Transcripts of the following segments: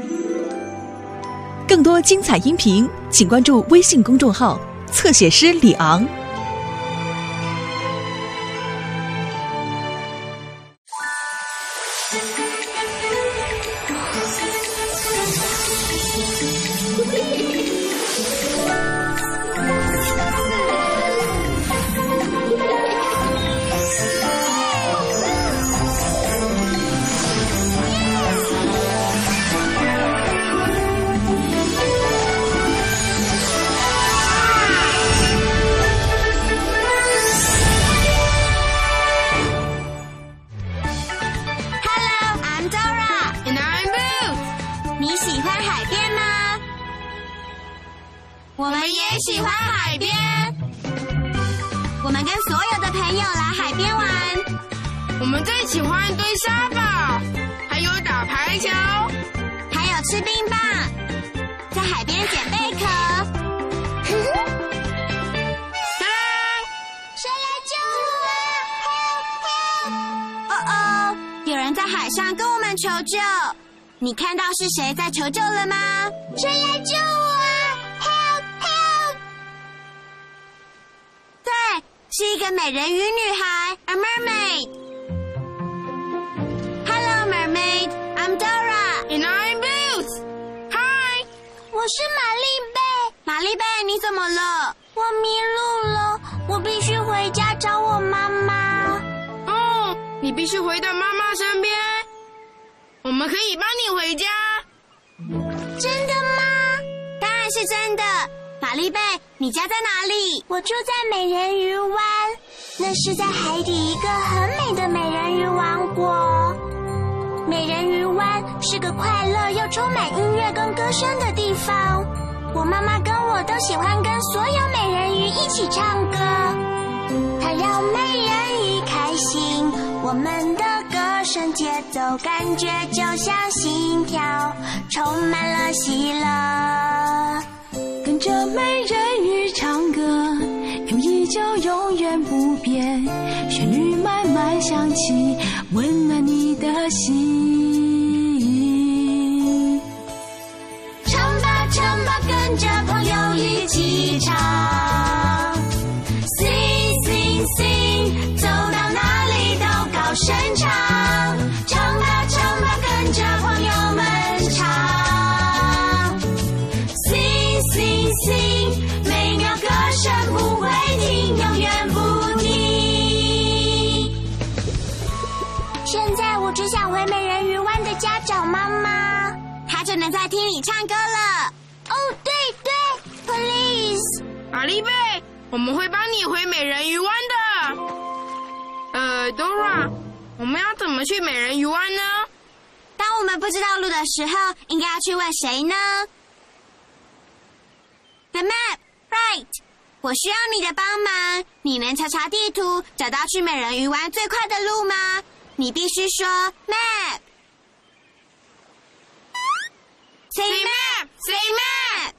更多精彩音频，请关注微信公众号“侧写师李昂”。 我们也喜欢海边，我们跟所有的朋友来海边玩。 我们最喜欢堆沙堡，还有打排球， 还有吃冰棒，在海边捡贝壳。谁来救我啊？ Help! 哦，有人在海上跟我们求救。你看到是谁在求救了吗？谁来救我啊？是一个美人鱼女孩 ，a mermaid. Hello, mermaid. I'm Dora. And I'm Boots. Hi. 我是玛丽贝。玛丽贝，你怎么了？我迷路了，我必须回家找我妈妈。 哦，你必须回到妈妈身边。我们可以帮你回家。 真的吗？当然是真的。玛丽贝，你家在哪里？我住在美人鱼湾，那是在海底一个很美的美人鱼王国。美人鱼湾是个快乐又充满音乐跟歌声的地方。我妈妈跟我都喜欢跟所有美人鱼一起唱歌，它让美人鱼开心。我们的歌声节奏感觉就像心跳，充满了喜乐。 跟着美人鱼唱歌，友谊就永远不变，旋律慢慢响起，温暖你的心。 唱吧唱吧，跟着朋友一起唱 Sing sing sing， 走到哪里都高声唱。唱吧唱吧，跟着朋友们唱Sing sing， 美妙歌声不会停，永远不停。现在我只想回美人鱼湾的家找妈妈，她就能在厅里唱歌了。哦，对对 ，Please。 玛丽贝，我们会帮你回美人鱼湾的。Dora， 我们要怎么去美人鱼湾呢？ 当我们不知道路的时候，应该要去问谁呢？The map, right. 我需要你的帮忙。你能查查地图，找到去美人鱼湾最快的路吗？你必须说 map. Say map, say map.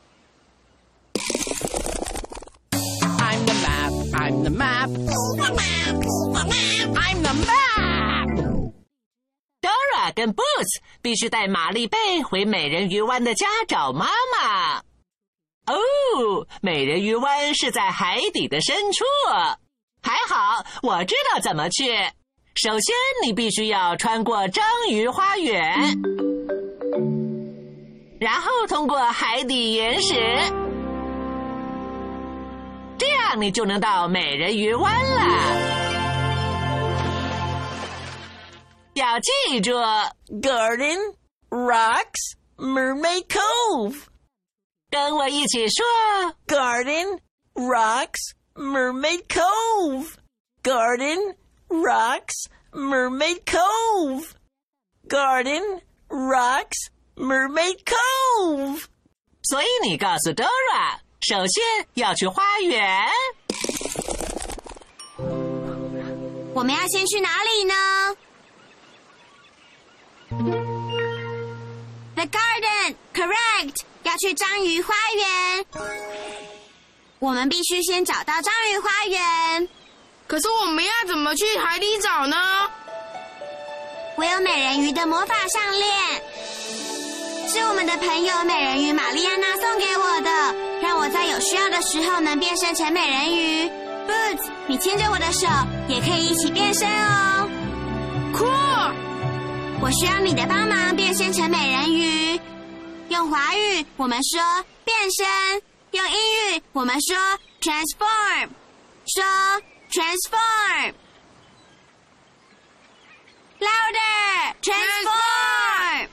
I'm the map, I'm the map. I'm the map. Dora 跟 Boots 必须带玛丽贝回美人鱼湾的家找妈妈。哦，美人鱼湾是在海底的深处。还好，我知道怎么去。首先，你必须要穿过章鱼花园，然后通过海底岩石，这样你就能到美人鱼湾了。要记住 ，Garden, Rocks, Mermaid Cove。跟我一起说 Garden, Rocks, Mermaid Cove. Garden, Rocks, Mermaid Cove. Garden, Rocks, Mermaid Cove. 所以你告诉 Dora， 首先要去花园。 我们要先去哪里呢？ The garden, correct. 要去章鱼花园。我们必须先找到章鱼花园。 可是我们要怎么去海底找呢？ 我有美人鱼的魔法项链。 是我们的朋友美人鱼玛丽安娜送给我的，让我在有需要的时候能变身成美人鱼。Boots， 你牵着我的手，也可以一起变身哦。 酷！ 我需要你的帮忙变身成美人鱼。用华语我们说变身，用英语我们说 transform， 说 transform。Louder! Transform!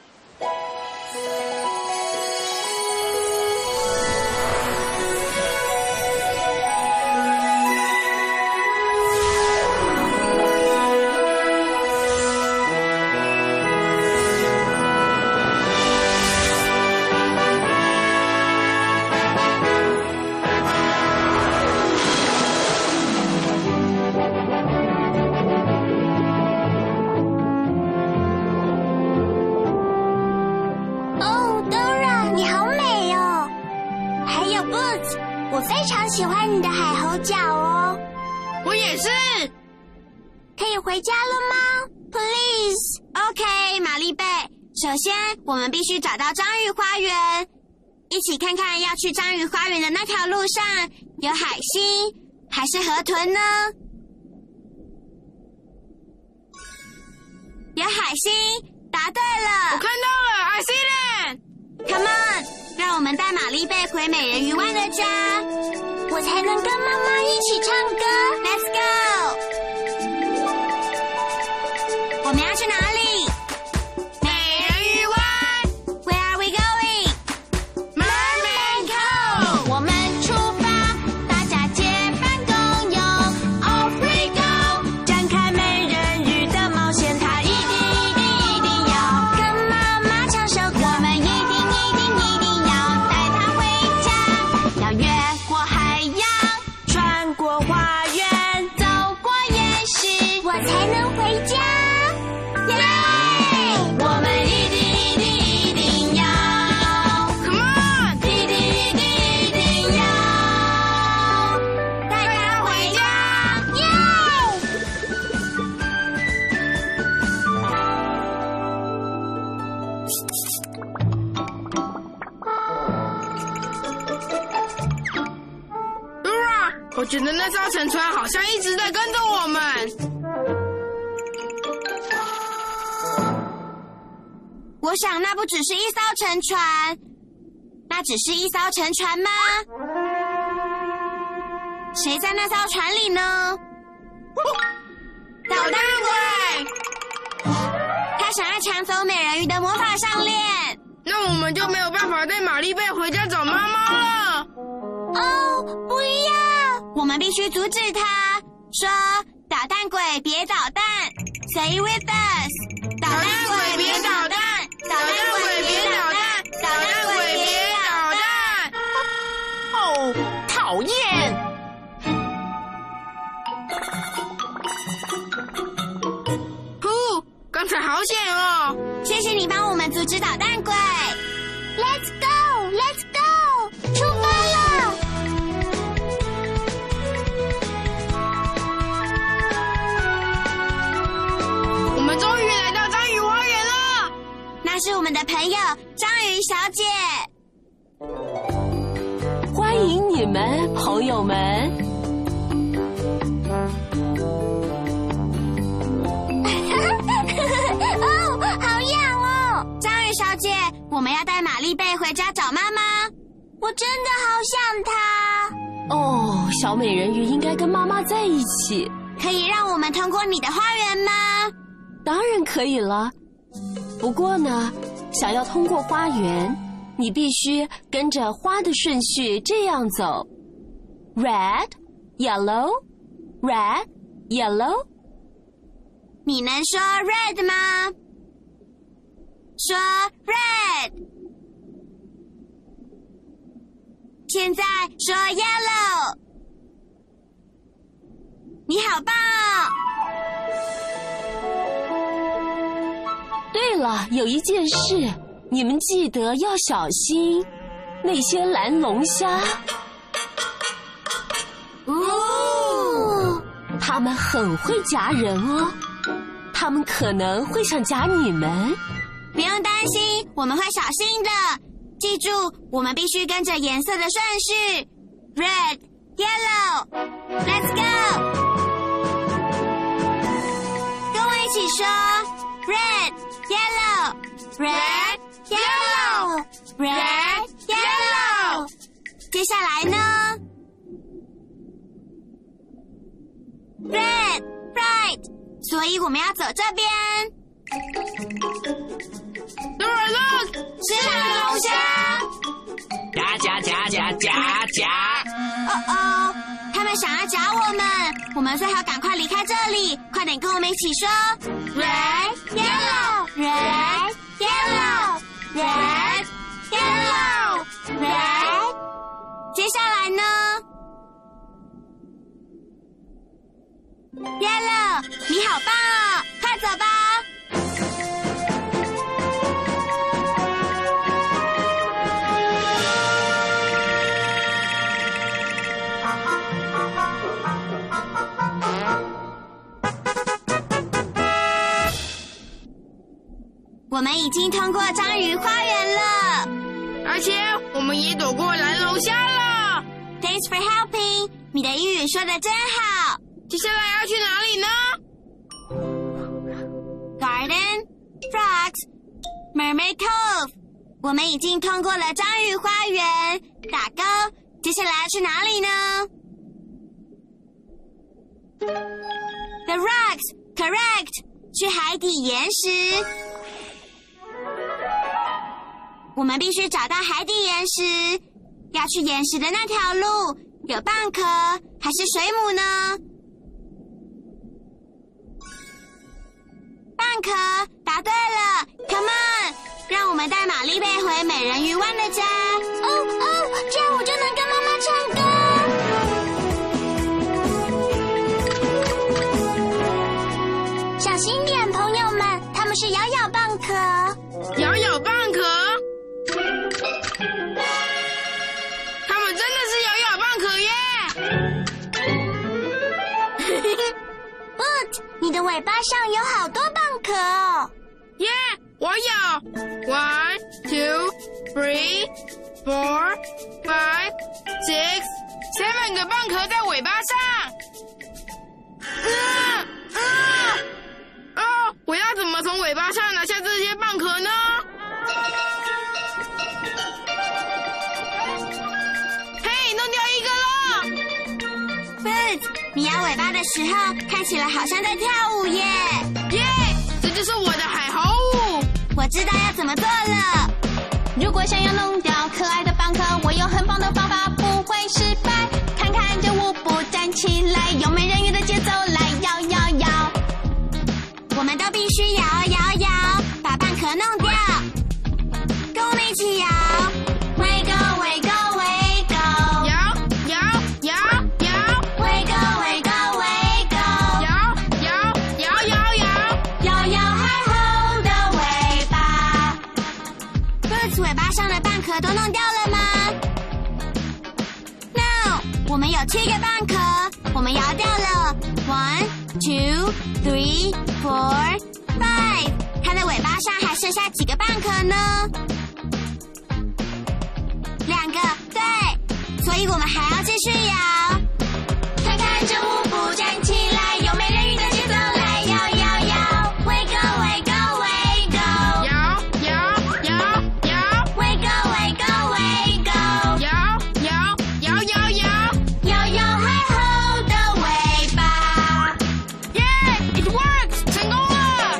Boots， 我非常喜欢你的海猴角哦。 我也是。 可以回家了吗 ？Please。OK， 玛丽贝。首先，我们必须找到章鱼花园，一起看看要去章鱼花园的那条路上有海星还是河豚呢？有海星，答对了。 我看到了 ，I see it。 Come on， 让我们带玛丽贝回美人鱼湾的家，我才能跟妈妈一起唱歌。Let's go。我们要去哪里？ 美人鱼湾。 Where are we going？ Mermaid Cove。 我们出发，大家结伴共游。Off we go， 展开美人鱼的冒险，它一定要跟妈妈唱首歌。我们一定要带它回家，要越过海洋，穿过花园，走过夜市，我才能回家。我们一定要 Come on， 一定要带它回家，耶！ Dora， 我觉得那艘沉船好像一直在跟着我们。 我想那不只是一艘沉船，那只是一艘沉船吗？谁在那艘船里呢？捣蛋鬼！他想要抢走美人鱼的魔法项链。 那我们就没有办法带玛丽贝回家找妈妈了。 哦，不要！我们必须阻止他。说，捣蛋鬼别捣蛋 ，Say with us， 捣蛋鬼别捣蛋，捣蛋鬼别捣蛋，捣蛋鬼别捣蛋。 哦，讨厌！ 呼，刚才好险哦！ 谢谢你帮我们阻止捣蛋鬼。Let's go, let's go， 出发了！ 我们终于来到章鱼花园了。 那是我们的朋友章鱼小姐。 欢迎你们，朋友们。 哦，好痒哦！章鱼小姐，我们要带玛丽贝回家找妈妈。我真的好想她。 哦，小美人鱼应该跟妈妈在一起。 可以让我们通过你的花园吗？ 当然可以了。不过呢，想要通过花园，你必须跟着花的顺序这样走 ：red, yellow, red, yellow。 你能说 red 吗？说 red。现在说 yellow。你好棒哦！ 对了，有一件事，你们记得要小心那些蓝龙虾。 哦， 它们很会夹人哦，它们可能会想夹你们。 不用担心，我们会小心的。记住，我们必须跟着颜色的顺序 ：red, yellow. Let's go！ 跟我一起说 ：red, yellow, red, yellow, red, yellow。接下来呢 ？red, right。所以我们要走这边。 Dora, look， 是蓝龙虾。 夹！ 哦，他们想要夹我们最好赶快离开这里，快点跟我们一起说 Red, Yellow, Red, Yellow, Red, Yellow, Red。接下来呢 ？Yellow， 你好棒哦，快走吧。我们已经通过章鱼花园了， 而且我们也躲过蓝龙虾了。 Thanks for helping， 你的英语说得真好。 接下来要去哪里呢 ？Garden, Frogs, Mermaid Cove。我们已经通过了章鱼花园，打勾。接下来要去哪里呢 ？The Rocks, correct。去海底岩石。我们必须找到海底岩石。要去岩石的那条路，有蚌壳还是水母呢？蚌壳，答对了 ！Come on， 让我们带玛丽贝回美人鱼湾的家。这样我就能跟妈妈唱歌。小心点，朋友们，他们是咬蚌壳。 咬蚌壳？他们真的是咬蚌壳耶 ！But 你的尾巴上有好多蚌壳哦。 耶，我有 1, 2, 3, 4, 5, 6, 7个蚌壳在尾巴上。我要怎么从尾巴上拿下这些蚌壳呢？嘿，弄掉一个了 ！Boots， 你摇尾巴的时候看起来好像在跳舞耶！ 耶，这就是我的海猴舞。 我知道要怎么做了。 如果想要弄掉可爱的蚌壳，我有很棒的方法，不会失败。看看这舞步，站起来，用美人鱼的节奏来摇摇摇。 我们都必须摇摇摇，把蚌壳弄掉。跟我们一起摇 ，Wiggle Wiggle Wiggle， 摇摇摇摇 ，Wiggle Wiggle Wiggle， 摇摇海猴的尾巴。Boots 尾巴上的蚌壳都弄掉了吗 ？No， 我们有7个蚌壳，我们摇掉了 1, 2, 3, 4, 5。它的尾巴上还剩下几个蚌壳呢？2个，对，所以我们还要继续摇。看看这舞步，站起来，用美人鱼的节奏来摇摇摇 ，Wiggle Wiggle Wiggle， 摇 ，Wiggle Wiggle Wiggle， 摇海猴的尾巴。 耶 ，It works， 成功了。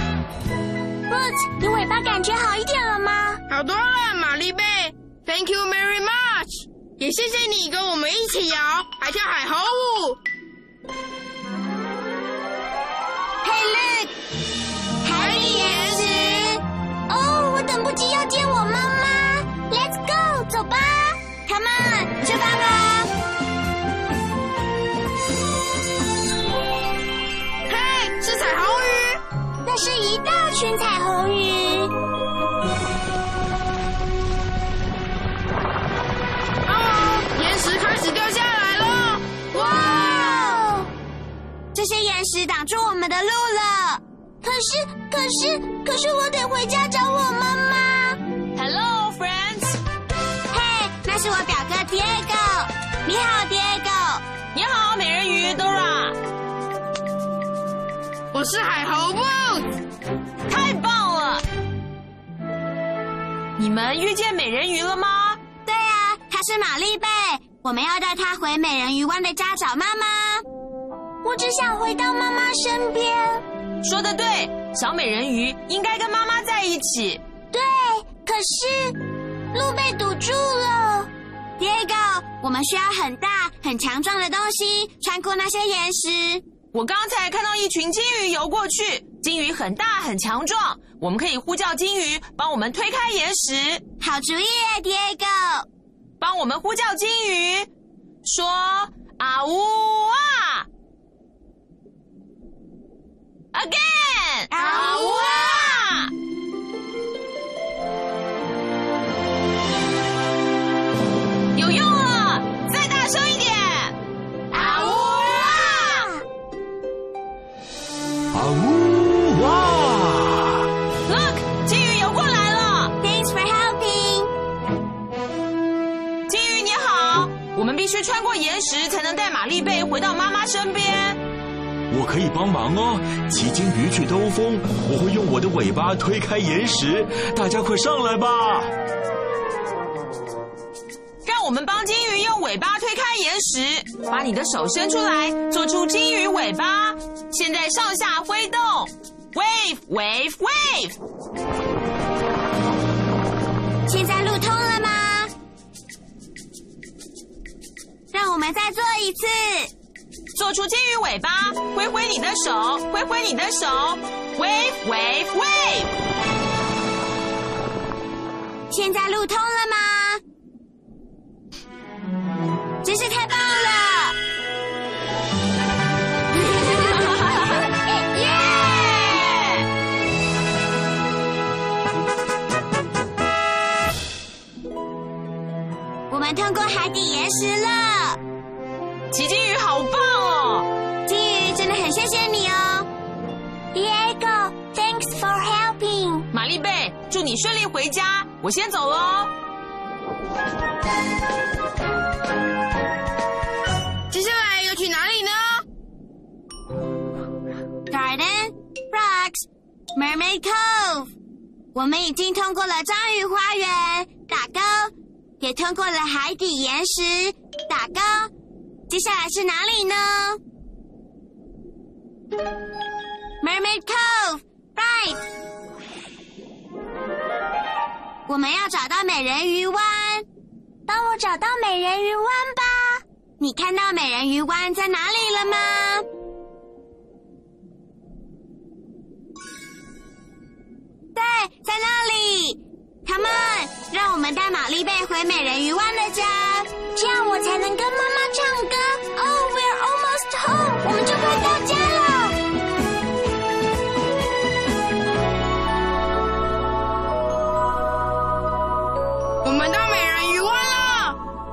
Boots， 你尾巴感觉好一点了吗？ 好多了，玛丽贝 ，Thank you very much， 也谢谢你跟我们一起摇，还跳海猴舞。 Hey look， 海底岩石。哦，我等不及要见我妈妈。Let's go， 走吧 ，Come on， 出发吧。 嘿，是彩虹鱼。 那是一大群彩虹鱼。 岩石开始掉下来了。 哇！这些岩石挡住我们的路了。可可是我得回家找我妈妈。 Hello, friends。 嘿，那是我表哥 Diego。你好 ，Diego。 你好，美人鱼 Dora。 我是海猴 Boots。 太棒了！你们遇见美人鱼了吗？ 对啊，她是玛丽贝，我们要带她回美人鱼湾的家找妈妈。我只想回到妈妈身边。 说得对，小美人鱼应该跟妈妈在一起。 对，可是路被堵住了。Diego， 我们需要很大、很强壮的东西穿过那些岩石。 我刚才看到一群金鱼游过去，金鱼很大很强壮，我们可以呼叫金鱼帮我们推开岩石。 好主意耶 ，Diego。 帮我们呼叫金鱼，说啊呜啊 ，again 啊呜啊。有用了，再大声一点！啊呜啊！ 啊呜哇 Look， 金鱼游过来了。 Thanks for helping。 金鱼你好，我们必须穿过岩石才能带玛丽贝回到妈妈身边。 我可以帮忙哦，骑金鱼去兜风，我会用我的尾巴推开岩石，大家快上来吧！ 让我们帮金鱼用尾巴推开岩石，把你的手伸出来，做出金鱼尾巴。现在上下挥动 ，wave wave wave。 现在路通了吗？让我们再做一次。 做出金鱼尾巴，挥挥你的手，挥挥你的手 ，wave wave wave。 现在路通了吗？真是太棒了！ 耶！ 我们通过海底岩石了。 骑金鱼好棒哦！ 金鱼真的很谢谢你哦 ，Diego。Thanks for helping。 玛丽贝，祝你顺利回家，我先走喽。 接下来要去哪里呢 Garden, Rocks, Mermaid Cove。我们已经通过了章鱼花园，打勾，也通过了海底岩石，打勾。接下来是哪里呢 ？Mermaid Cove, right。我们要找到美人鱼湾，帮我找到美人鱼湾吧。你看到美人鱼湾在哪里了吗？对，在那里。Come on， 让我们带玛丽贝回美人鱼湾的家，这样我才能跟妈妈唱歌。Oh, we're almost home， 我们就快到家了。 我们到美人鱼湾了。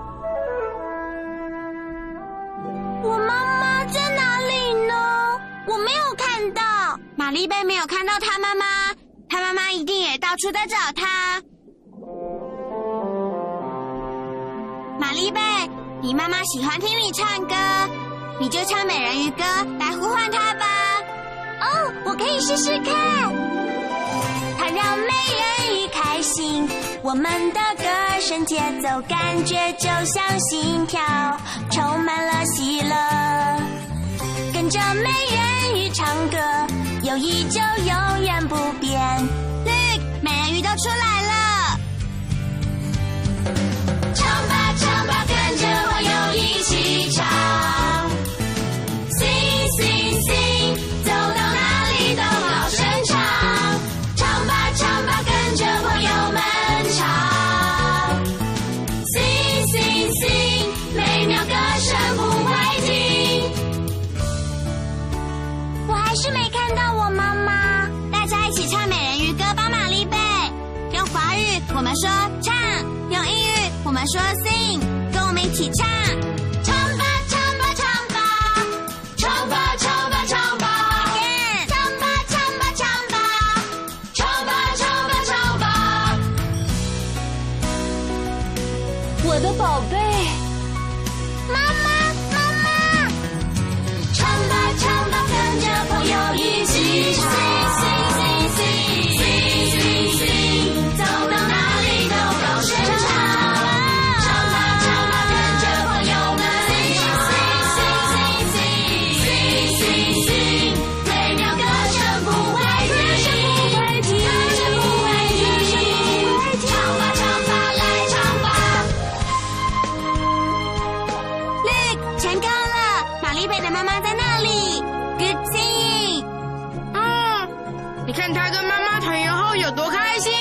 我妈妈在哪里呢？我没有看到。玛丽贝没有看到她妈妈，她妈妈一定也到处在找她。玛丽贝，你妈妈喜欢听你唱歌，你就唱美人鱼歌来呼唤她吧。哦，我可以试试看。它让美人鱼开心，我们的歌声节奏感觉就像心跳，充满了喜乐。跟着美人鱼唱歌，友谊就永远不变。Look， 美人鱼都出来了。唱吧唱吧，跟着我又一起唱。Sing sing sing， 走到哪里都高声唱。唱吧唱吧，跟着我友们唱。Sing sing sing， 美妙歌声不会停。我还是没看到我妈妈。大家一起唱美人鱼歌吧，玛丽贝。用华语我们说唱，用英语我们说 sing， 跟我们一起唱。唱吧唱吧唱吧，唱吧唱吧唱吧， again， 唱吧唱吧唱吧，唱我的宝贝， 妈妈，妈妈，唱吧唱吧，跟着朋友一起唱。走到哪里都高声唱。唱吧唱吧，跟着朋友们美妙歌声不会停，歌声不会停。唱吧唱吧，来唱吧。Look， 成功了！玛丽贝的妈妈在那里。Good singing。 你看他跟妈妈团圆后有多开心。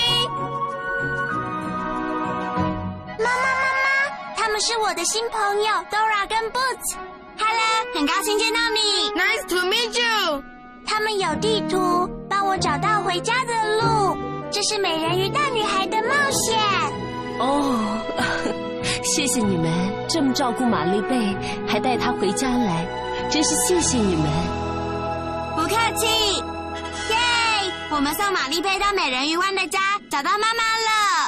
妈妈，他们是我的新朋友 Dora 跟 Boots。Hello， 很高兴见到你。 Nice to meet you。 他们有地图，帮我找到回家的路。这是美人鱼大女孩的冒险。 哦，谢谢你们这么照顾玛丽贝，还带她回家来，真是谢谢你们。 不客气。耶！我们送玛丽贝到美人鱼湾的家，找到妈妈了。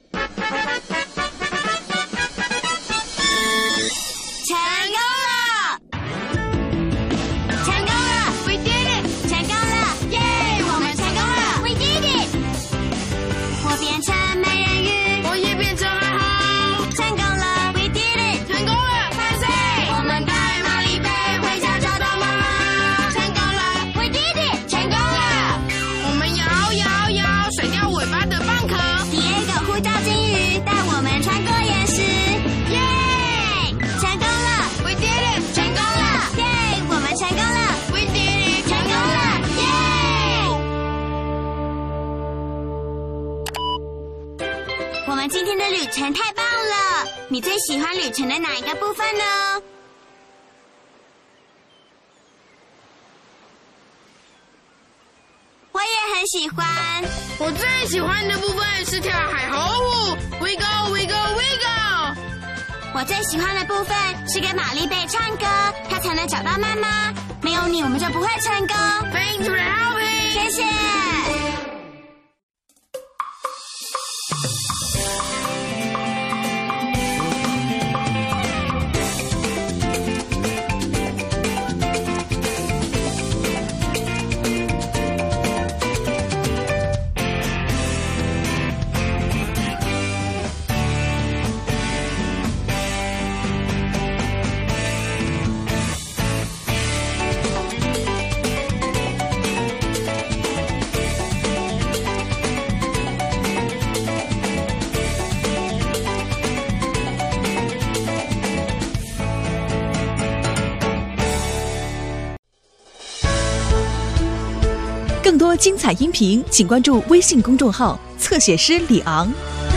成功了！成功了 We did it！ 成功了！耶！我们成功了 ！We did it！ 我变成美人鱼， 我也变成海猴。 成功了 ！We did it！ 成功了，万岁！ 我们带玛丽贝回家找到妈妈。成功了 ！We did it！ 成功了！ 我们摇，甩掉尾巴的蚌壳。 Diego呼叫金鱼，带我们穿过岩石。耶！成功了 We did it！ 成功了！耶！我们成功了 We did it！ 成功了！耶！我们今天的旅程太棒了！你最喜欢旅程的哪一个部分呢？我也很喜欢。 我最喜欢的部分是跳海猴舞 ，We go We go We go。 我最喜欢的部分是跟玛丽贝唱歌，她才能找到妈妈。没有你，我们就不会成功。 Thanks for helping。 谢谢。 更多精彩音频，请关注微信公众号“侧写师李昂”。